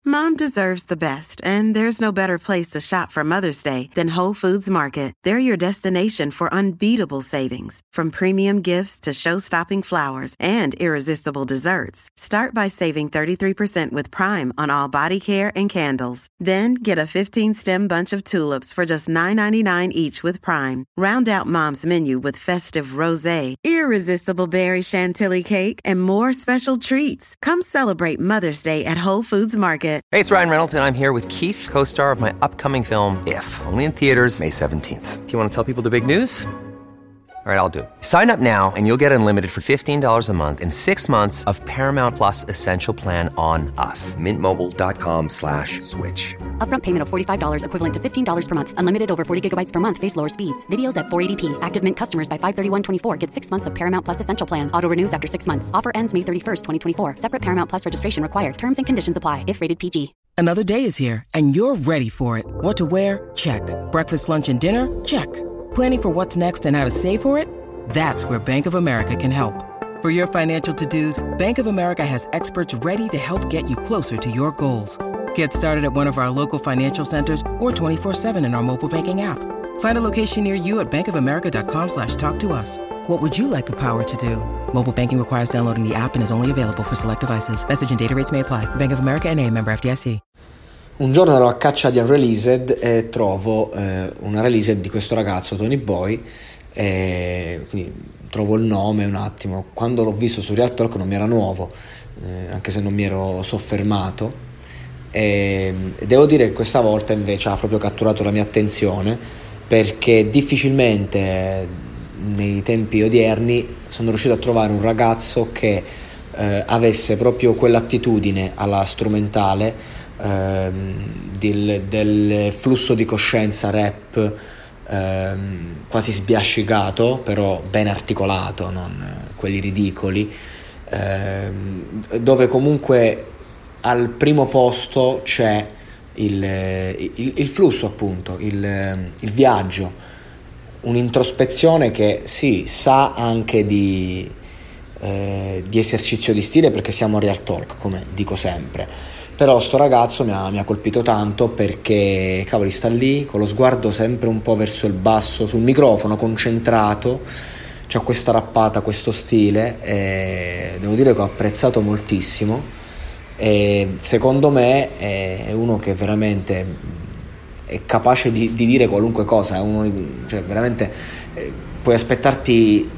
Mom deserves the best, and there's no better place to shop for Mother's Day than Whole Foods Market. They're your destination for unbeatable savings, from premium gifts to show-stopping flowers and irresistible desserts. Start by saving 33% with Prime on all body care and candles. Then get a 15-stem bunch of tulips for just $9.99 each with Prime. Round out Mom's menu with festive rosé, irresistible berry chantilly cake, and more special treats. Come celebrate Mother's Day at Whole Foods Market. Hey, it's Ryan Reynolds, and I'm here with Keith, co-star of my upcoming film, If, only in theaters May 17th. Do you want to tell people the big news? All right, I'll do it. Sign up now and you'll get unlimited for $15 a month and 6 months of Paramount Plus Essential Plan on us. MintMobile.com/switch. Upfront payment of $45 equivalent to $15 per month. Unlimited over 40 gigabytes per month. Face lower speeds. Videos at 480p. Active Mint customers by 531.24 get 6 months of Paramount Plus Essential Plan. Auto renews after 6 months. Offer ends May 31st, 2024. Separate Paramount Plus registration required. Terms and conditions apply if rated PG. Another day is here and you're ready for it. What to wear? Check. Breakfast, lunch, and dinner? Check. Planning for what's next and how to save for it? That's where Bank of America can help. For your financial to-dos, Bank of America has experts ready to help get you closer to your goals. Get started at one of our local financial centers or 24/7 in our mobile banking app. Find a location near you at bankofamerica.com/talktous. What would you like the power to do? Mobile banking requires downloading the app and is only available for select devices. Message and data rates may apply. Bank of America N.A., member FDIC. Un giorno ero a caccia di Unreleased e trovo una released di questo ragazzo, Tony Boy, quindi trovo il nome un attimo. Quando l'ho visto su Real Talk non mi era nuovo, anche se non mi ero soffermato, e devo dire che questa volta invece ha proprio catturato la mia attenzione, perché difficilmente nei tempi odierni sono riuscito a trovare un ragazzo che avesse proprio quell'attitudine alla strumentale, del flusso di coscienza rap, quasi sbiascicato però ben articolato, non quelli ridicoli, dove comunque al primo posto c'è il flusso, appunto, il viaggio, un'introspezione che sì, sa anche di esercizio di stile, perché siamo a Real Talk, come dico sempre. Però sto ragazzo mi ha colpito tanto, perché cavoli, sta lì con lo sguardo sempre un po' verso il basso sul microfono, concentrato, c'ha questa rappata, questo stile, e devo dire che ho apprezzato moltissimo, e secondo me è uno che veramente è capace di dire qualunque cosa, è uno, cioè veramente puoi aspettarti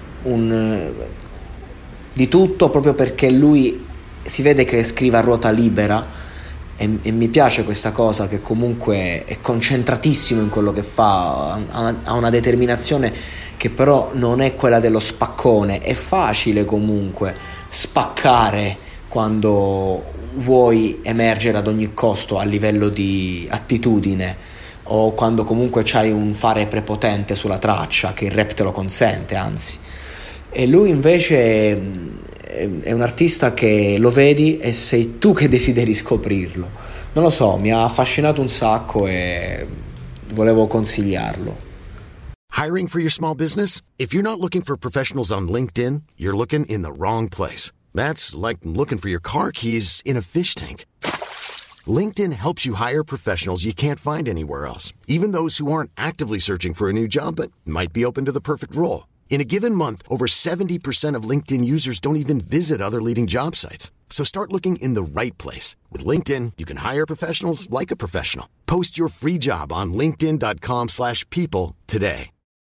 di tutto, proprio perché lui si vede che scrive a ruota libera, e mi piace questa cosa, che comunque è concentratissimo in quello che fa, ha una determinazione che però non è quella dello spaccone. È facile comunque spaccare quando vuoi emergere ad ogni costo a livello di attitudine, o quando comunque c'hai un fare prepotente sulla traccia, che il rap te lo consente, anzi. E lui invece è un artista che lo vedi e sei tu che desideri scoprirlo. Non lo so, mi ha affascinato un sacco e volevo consigliarlo. Hiring for your small business? If you're not looking for professionals on LinkedIn, you're looking in the wrong place. That's like looking for your car keys in a fish tank. LinkedIn helps you hire professionals you can't find anywhere else, even those who aren't actively searching for a new job but might be open to the perfect role. In a given month, over 70% of LinkedIn users don't even visit other leading job sites. So start looking in the right place. With LinkedIn, you can hire professionals like a professional. Post your free job on linkedin.com/people today.